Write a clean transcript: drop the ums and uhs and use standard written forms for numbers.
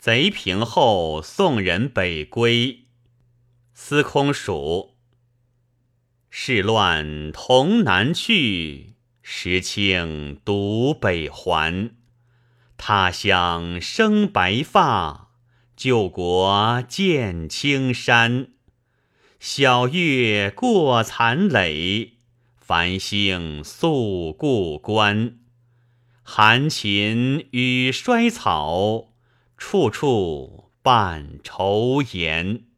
贼平后，送人北归。司空蜀。世乱同南去，时清独北还。他乡生白发，旧国见青山。晓月过残垒，繁星宿故关。寒禽与衰草，处处伴愁颜。